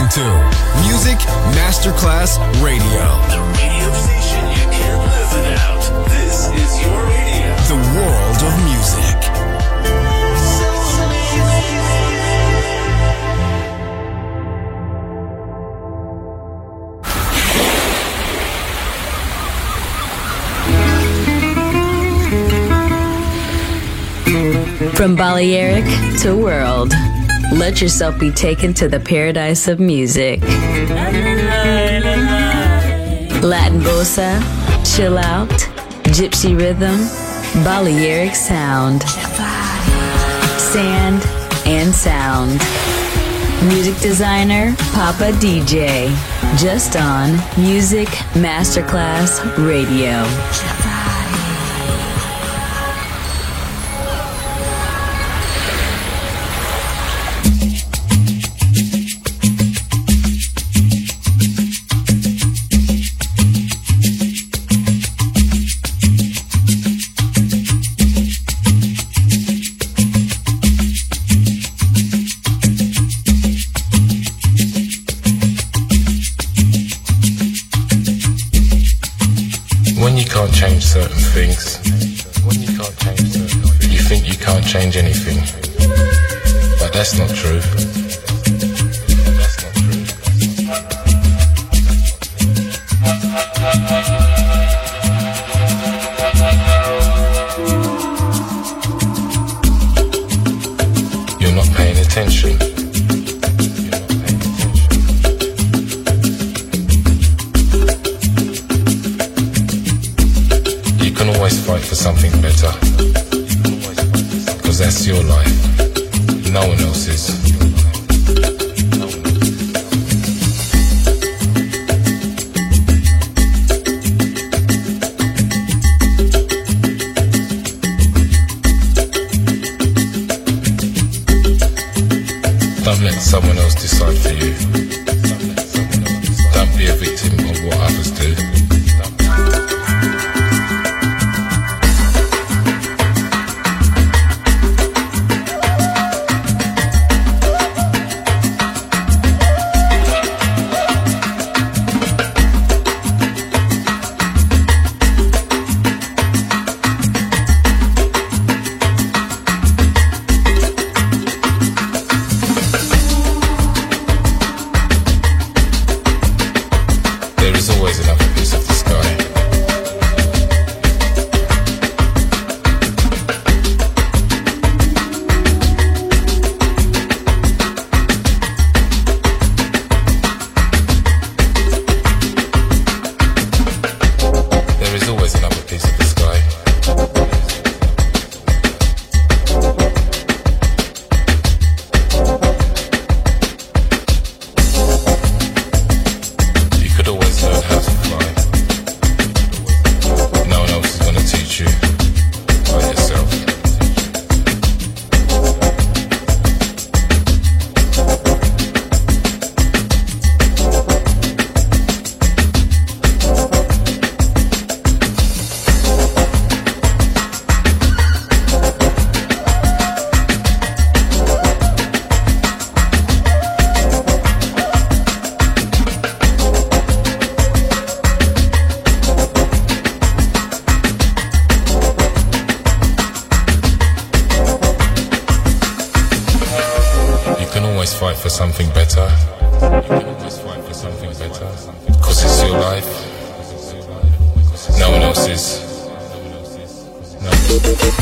to Music Masterclass Radio. The radio station you can't live without. This is your radio. The world of music. From Balearic to world, let yourself be taken to the paradise of music. Latin bossa, chill out, gypsy rhythm, Balearic sound, sand and sound. Music designer, Papa DJ, just on Music Masterclass Radio. Change certain things. You think you can't change anything, but that's not true. You're not paying attention. Fight for something better, because that's your life, no one else's. Don't let someone else decide for you. Don't be a victim of what others do. Something better. You can always fight for something better, because it's your life, no one else's. No.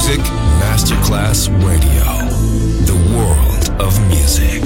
Music Masterclass Radio. The world of music.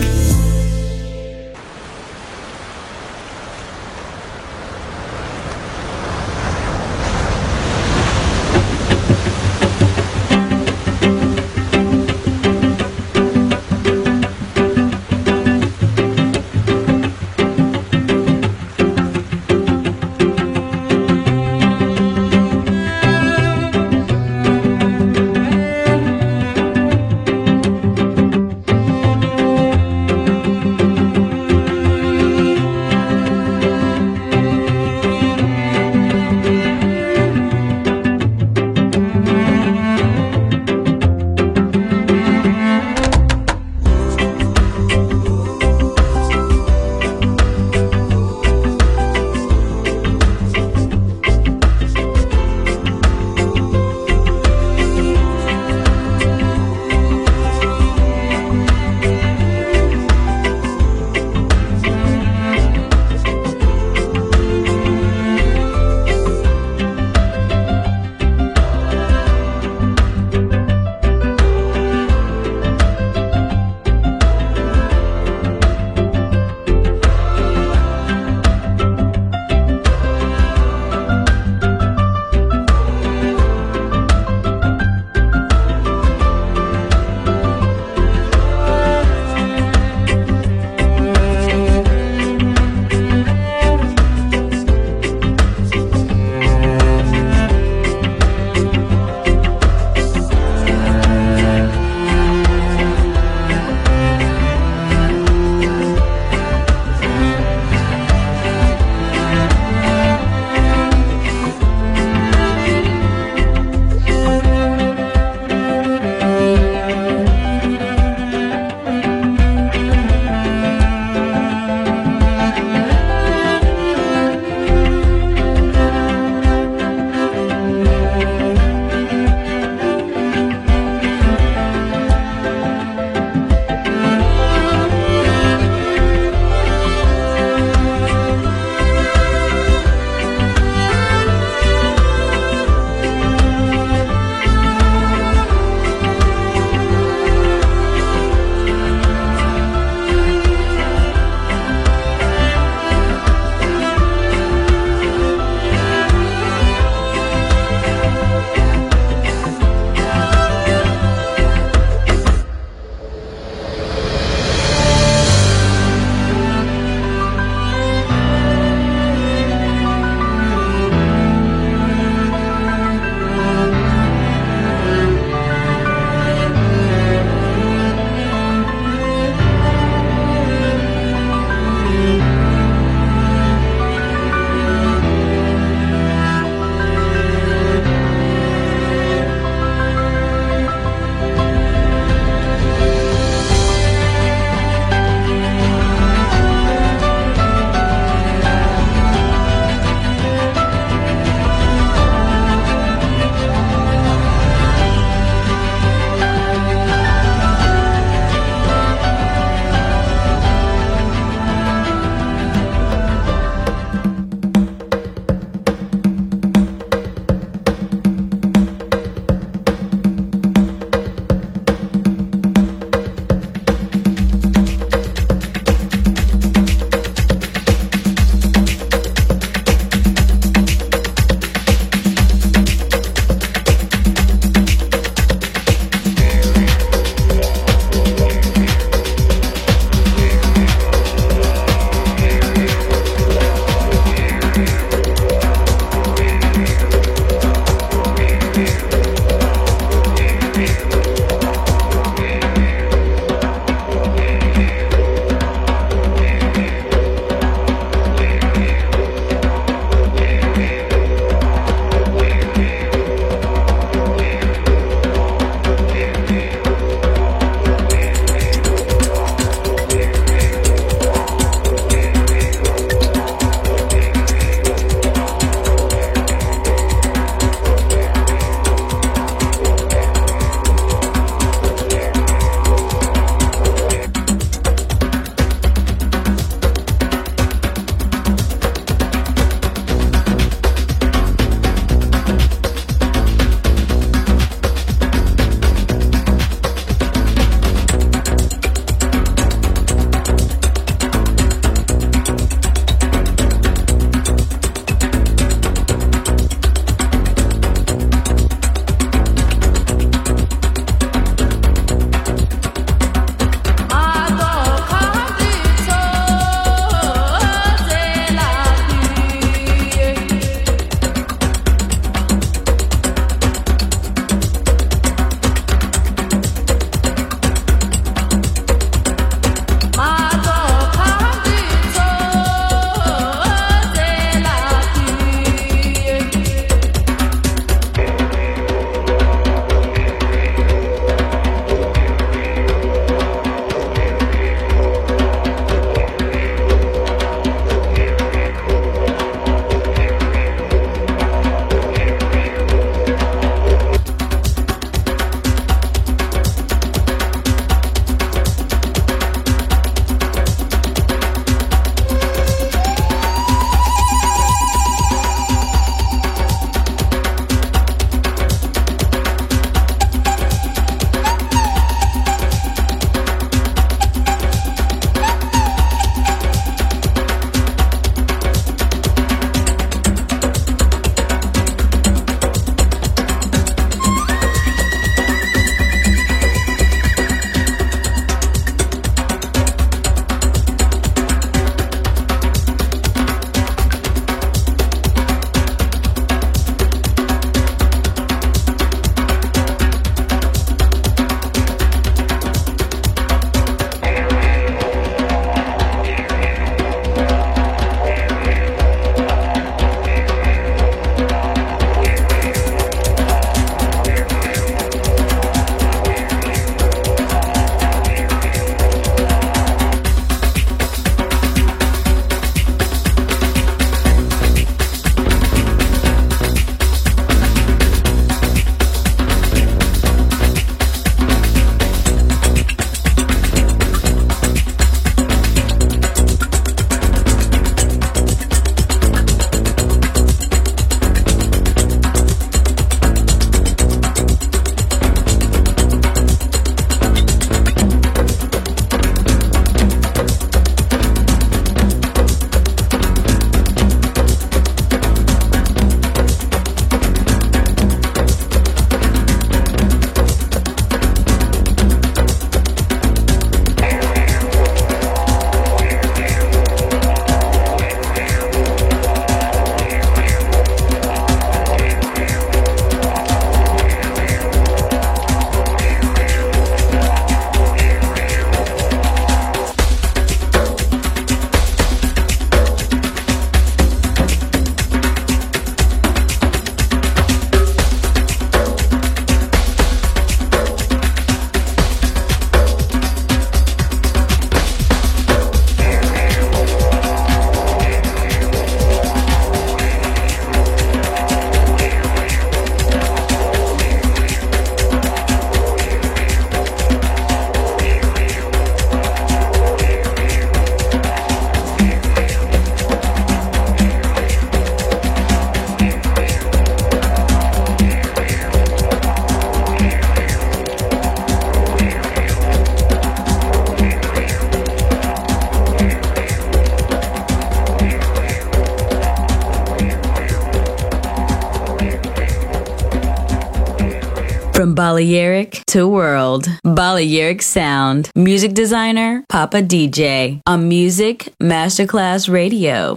From Balearic to World. Balearic Sound. Music designer, Papa DJ. On Music Masterclass Radio.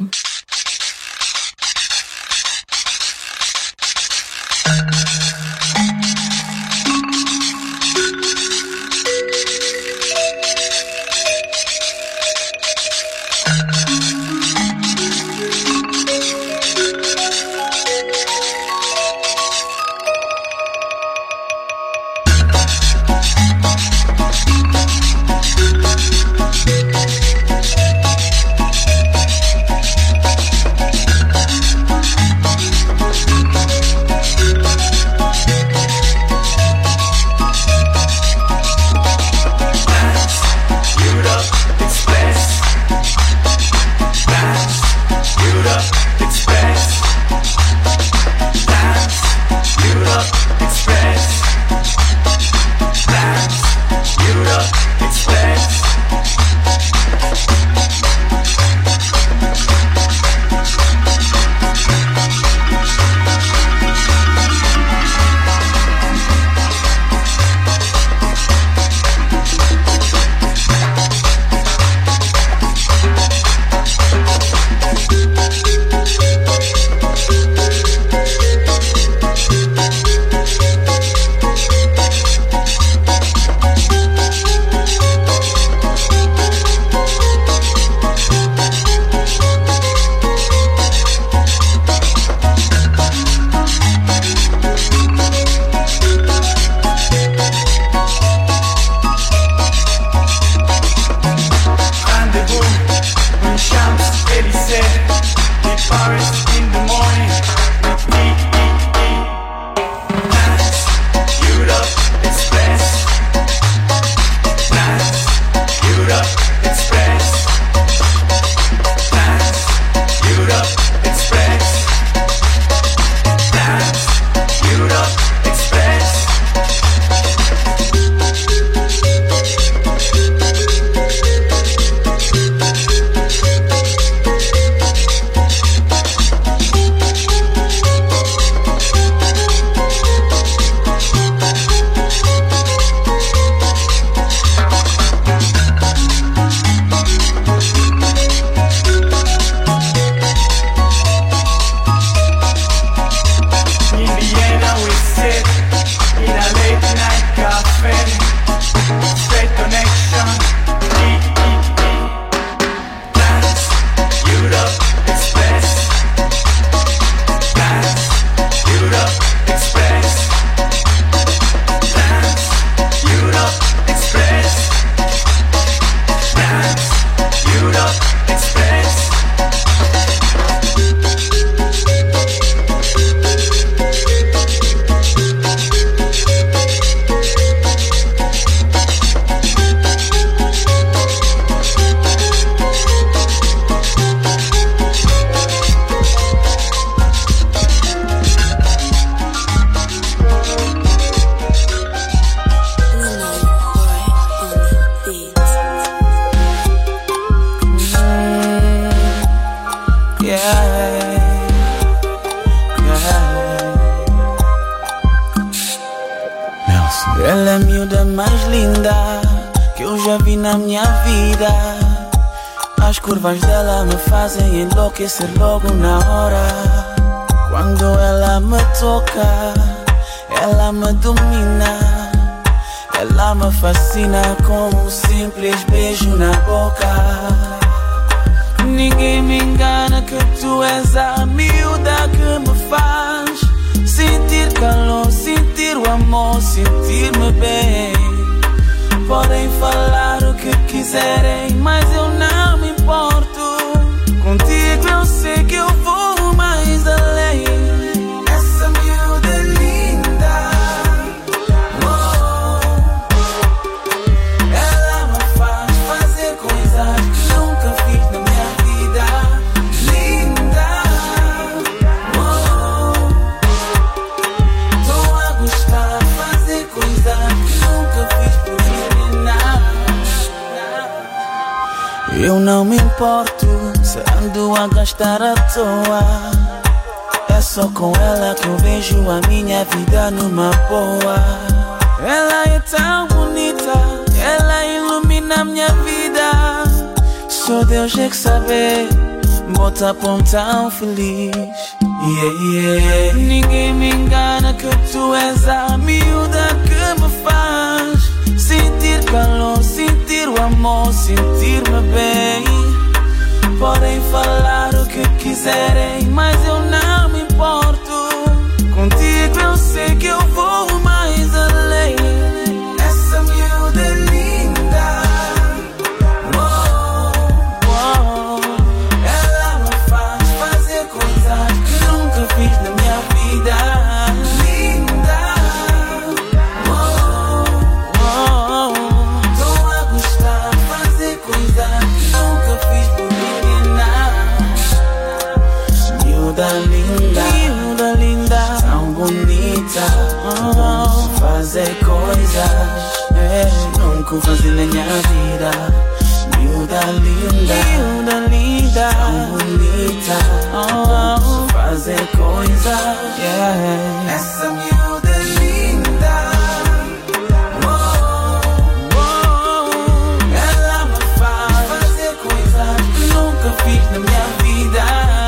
Ela é a miúda mais linda que eu já vi na minha vida. As curvas dela me fazem enlouquecer logo na hora. Quando ela me toca, ela me domina. Ela me fascina com um simples beijo na boca. Ninguém me engana que tu és a miúda que me faz sentir calor, sentir o amor, sentir-me bem. Podem falar o que quiserem, mas eu não me importo. Contigo eu sei que eu vou mais além. Essa miúda é linda, oh. Ela me faz fazer coisas que nunca fiz na minha vida. Linda, oh. Tô a gostar de fazer coisas que nunca fiz por menina. Eu não me importo se ando a gastar à toa. É só com ela que eu vejo a minha vida numa boa. Ela é tão bonita, ela ilumina minha vida. Só Deus é que sabe, bota pão tão feliz. Ninguém me engana que tu és a miúda que me faz sentir calor, sentir o amor, sentir-me bem. Podem falar o que quiserem, mas eu não me importo. Contigo eu sei que eu vou mais além. Essa miúda é linda. Oh, oh. Ela me faz fazer coisas que nunca fiz na minha vida. Linda. Oh, oh. Tô a gostar de fazer coisas que nunca fiz por ninguém, não. Miúda linda, miúda linda, tão bonita. Fazer coisas nunca fazer na minha vida. Miúda linda, miúda linda, tão bonita. Fazer coisas, essa miúda é linda. Ela me faz fazer coisas que nunca fiz na minha vida.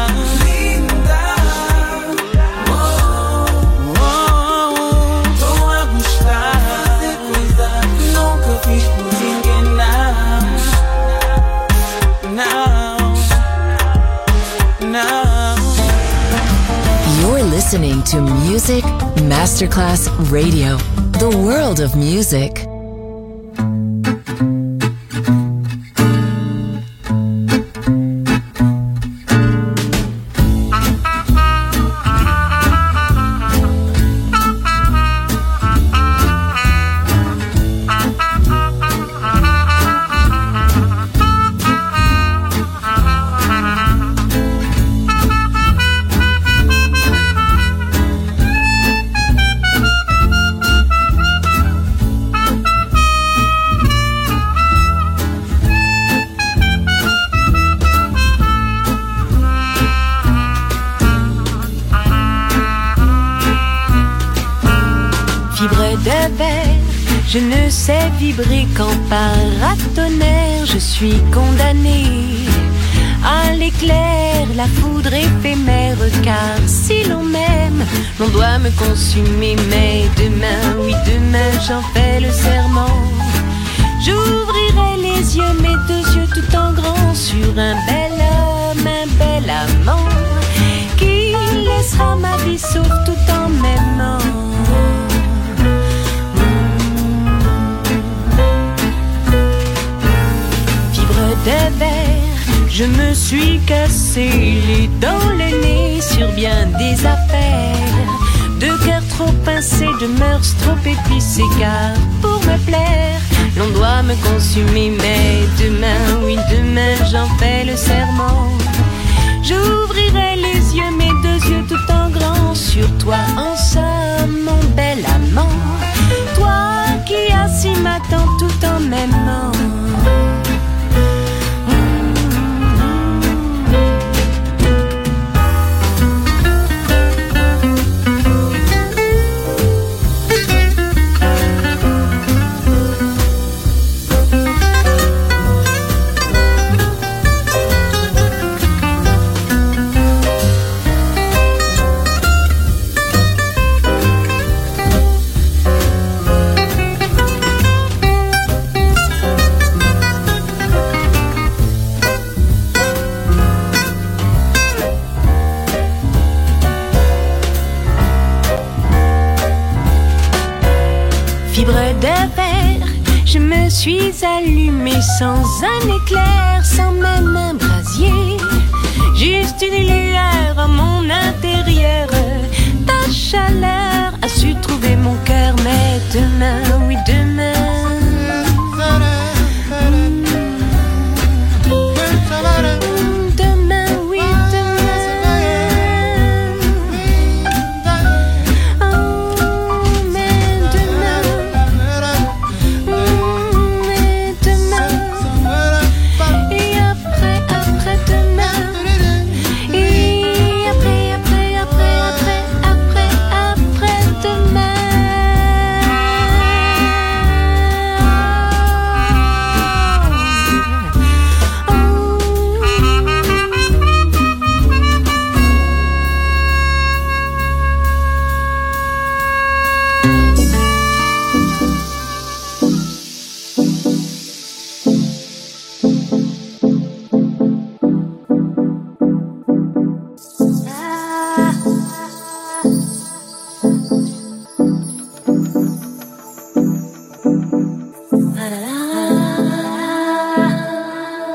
You're listening to Music Masterclass Radio, the world of music. Je ne sais vibrer qu'en paratonnerre. Je suis condamnée à l'éclair, la foudre éphémère. Car si l'on m'aime, l'on doit me consumer. Mais demain, oui demain, j'en fais le serment. J'ouvrirai les yeux, mes deux yeux tout en grand, sur un bel homme, un bel amant, qui laissera ma vie sauf tout en m'aimant. De verre, je me suis cassé les dents, le nez sur bien des affaires. De cœur trop pincé, de mœurs trop épicées. Car pour me plaire, l'on doit me consumer. Mais demain, oui demain, j'en fais le serment. J'ouvrirai les yeux, mes deux yeux tout en grand, sur toi en somme, mon bel amant. Toi qui assis m'attends tout en m'aimant. Je me suis allumée sans un éclair, sans même un brasier. Juste une lueur en mon intérieur. Ta chaleur a su trouver mon cœur. Mais demain, oui demain,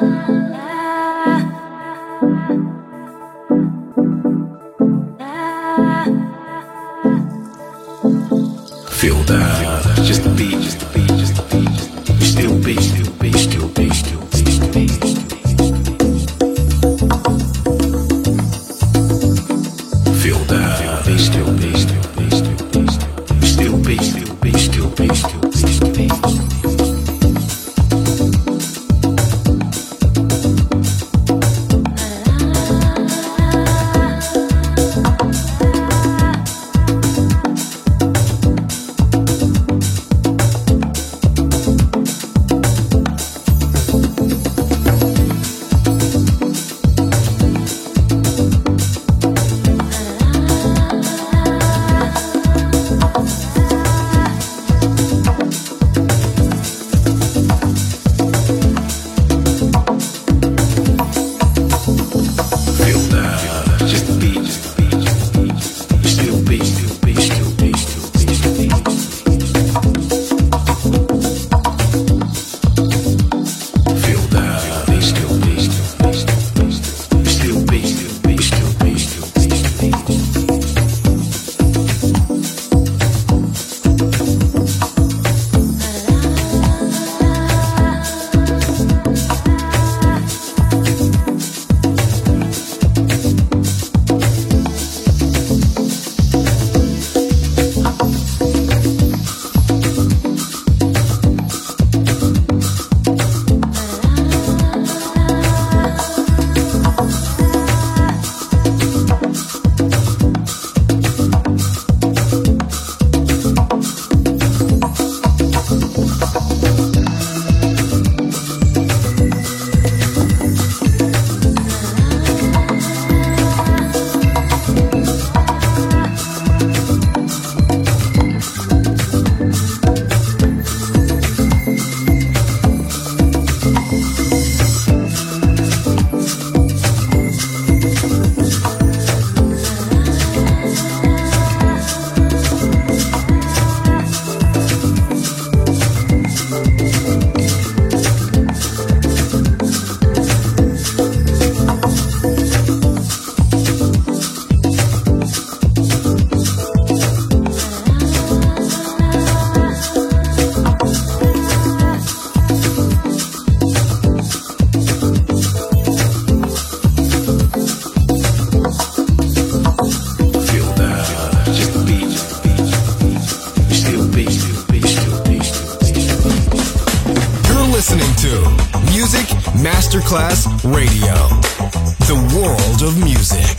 Feel that, just the beat, just the beat, just the beat. We still beat, still beat, still beat, still beat, still beat. Feel that, beat, still beat, still beat, still beat. We still beat, still beat, still beat, still beat, still beat. Masterclass Radio, the world of music.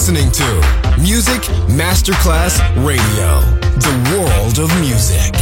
listening to Music Masterclass Radio, the world of music.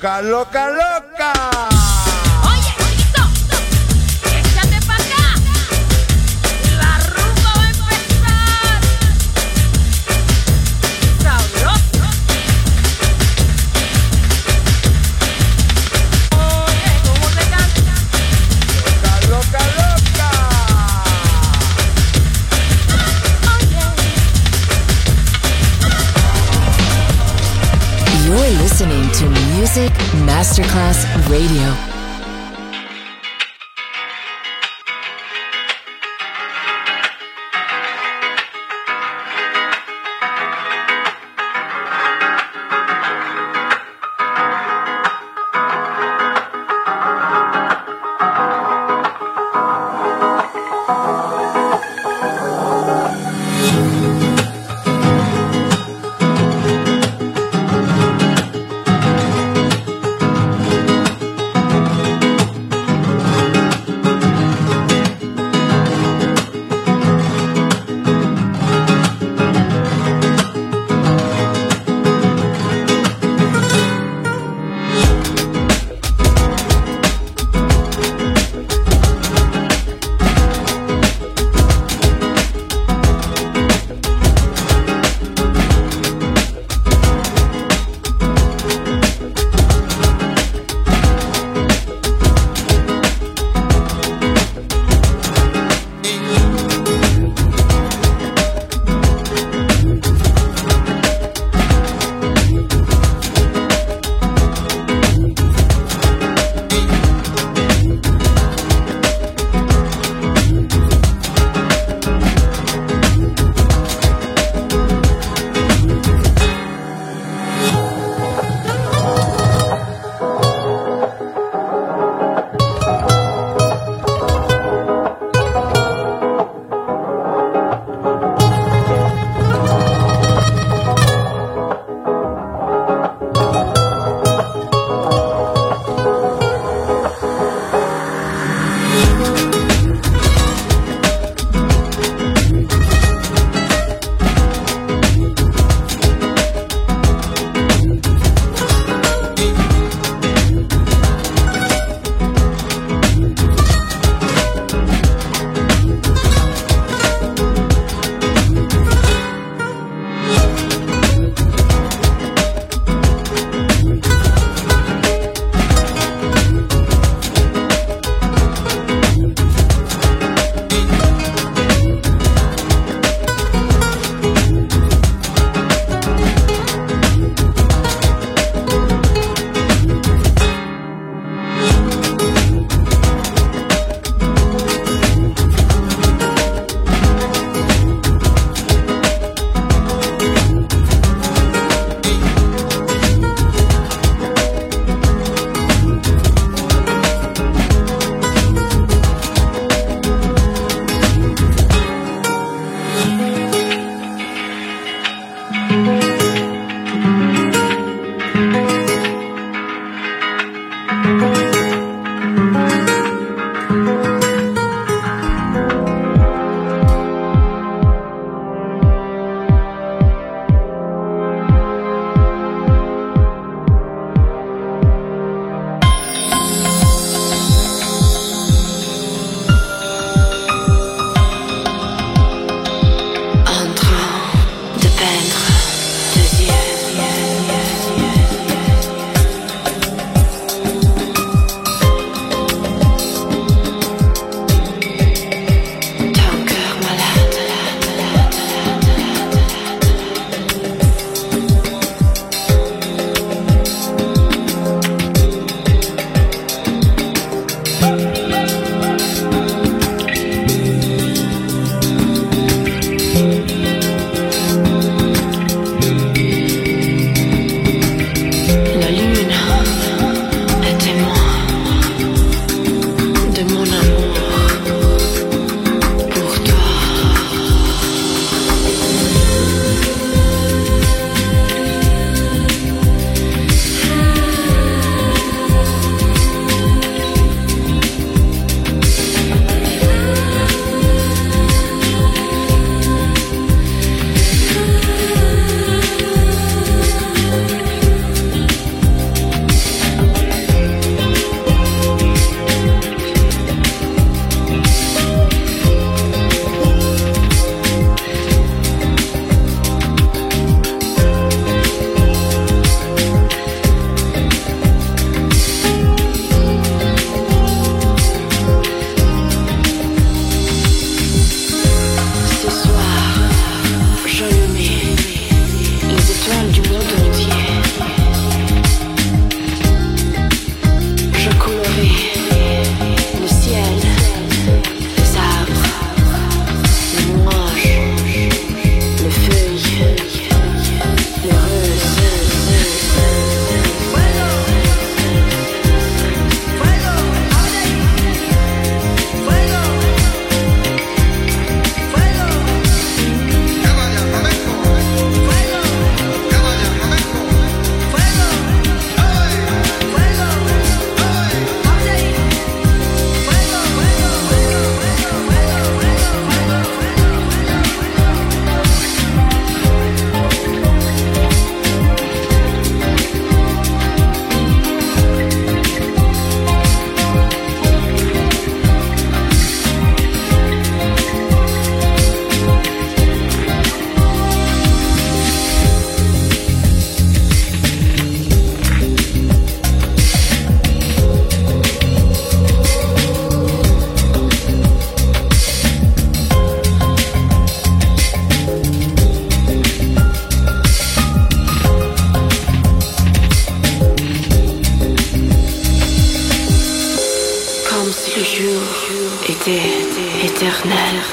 loca, loca, loca. Oye, chiquito, échate pa' acá. La rumba va a empezar. Sabroso. Oye, ¿cómo se canta? Loca, loca, loca. You're listening to Music Masterclass Radio.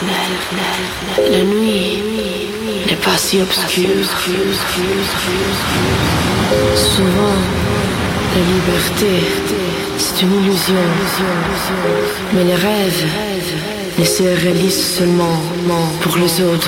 La nuit n'est pas si obscure. Souvent, la liberté, c'est une illusion. Mais les rêves ne se réalisent seulement pour les autres.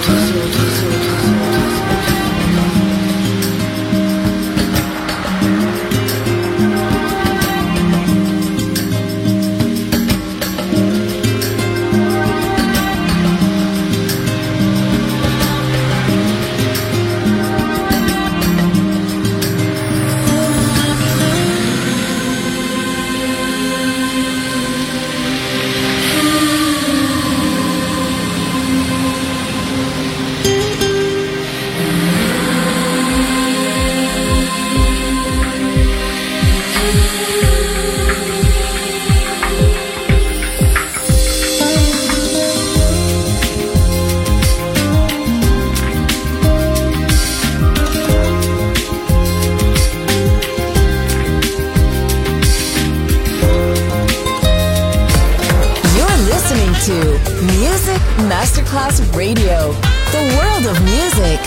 Music Masterclass Radio, the world of music.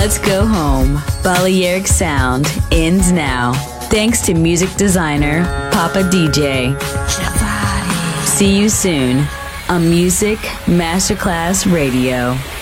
Let's go home. Balearic Sound ends now. Thanks to music designer Papa DJ. See you soon on Music Masterclass Radio.